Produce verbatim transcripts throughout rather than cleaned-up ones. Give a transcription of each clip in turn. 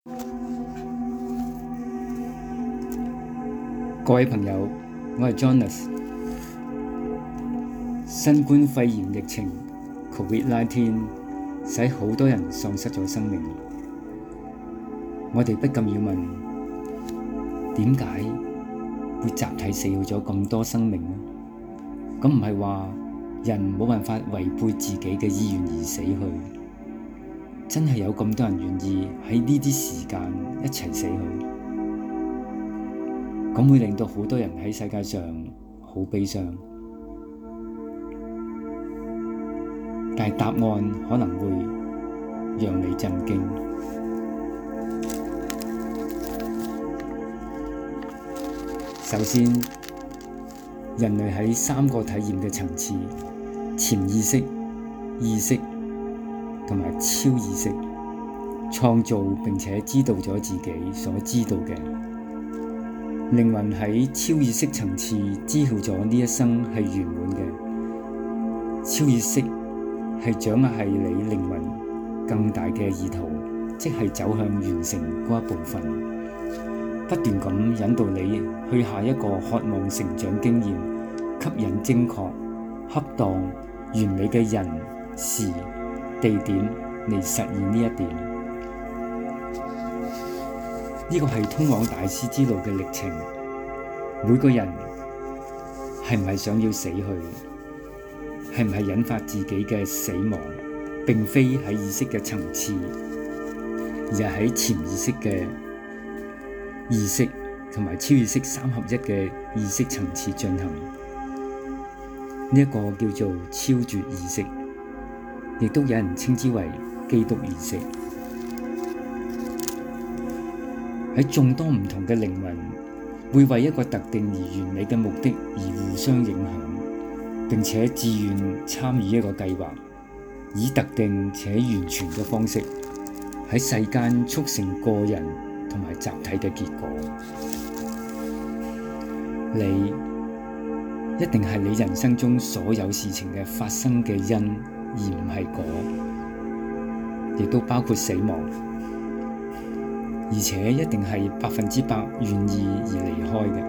各位朋友，我係 Jonas。新冠肺炎疫情 covid 十九 使好多人喪失咗生命，我哋不禁要問：點解會集體死去咗咁多生命呢？咁唔係話人冇辦法違背自己嘅意願而死去，真係有咁多人願意喺呢啲時間一齊死去，咁會令到好多人喺世界上好悲傷。但係答案可能會讓你震驚。首先，人類喺三個體驗嘅層次：潛意識、意識同埋超意識，創造並且知道咗自己所知道嘅。靈魂喺超意識層次知曉咗呢一生係圓滿嘅。超意識係掌握係你靈魂更大嘅意圖，即係走向完成嗰一部分，不斷咁引導你去下一個渴望成長經驗，吸引精確、恰當、完美嘅人、事、地點嚟實現呢一點。呢個係通往大師之路嘅歷程。每個人係唔係想要死去？係唔係引發自己嘅死亡？並非喺意識嘅層次，而係喺潛意識嘅意識同埋超意識三合一嘅意識層次進行。呢一個叫做超絕意識，亦都有人稱之為基督意識。喺眾多唔同嘅靈魂會為一個特定而完美嘅目的而互相影響，並且自願參與一個計劃，以特定且完全嘅方式喺世間促成個人同埋集體嘅結果。你一定係你人生中所有事情嘅發生嘅因，而唔係果，亦都包括死亡，而且一定係百分之百願意而離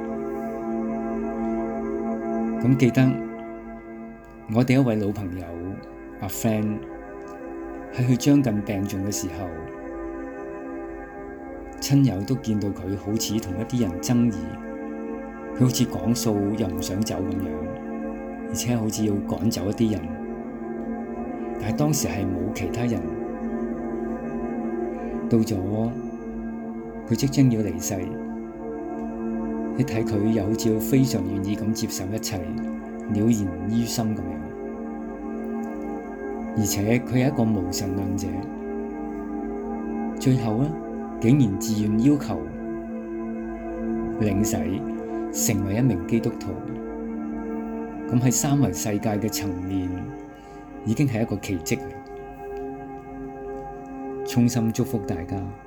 開嘅。咁記得我哋一位老朋友阿 friend 喺佢將近病重嘅時候，親友都見到佢好似同一啲人爭議，佢好似講數又唔想走咁樣，而且好似要趕走一啲人，但係當時係冇其他人。到咗佢即將要離世，你睇佢又好似非常願意咁接受一切，了然於心咁樣。而且佢係一個無神論者，最後呢，竟然自願要求領洗，成為一名基督徒。咁喺三維世界嘅層面，已經係一個奇蹟。衷心祝福大家。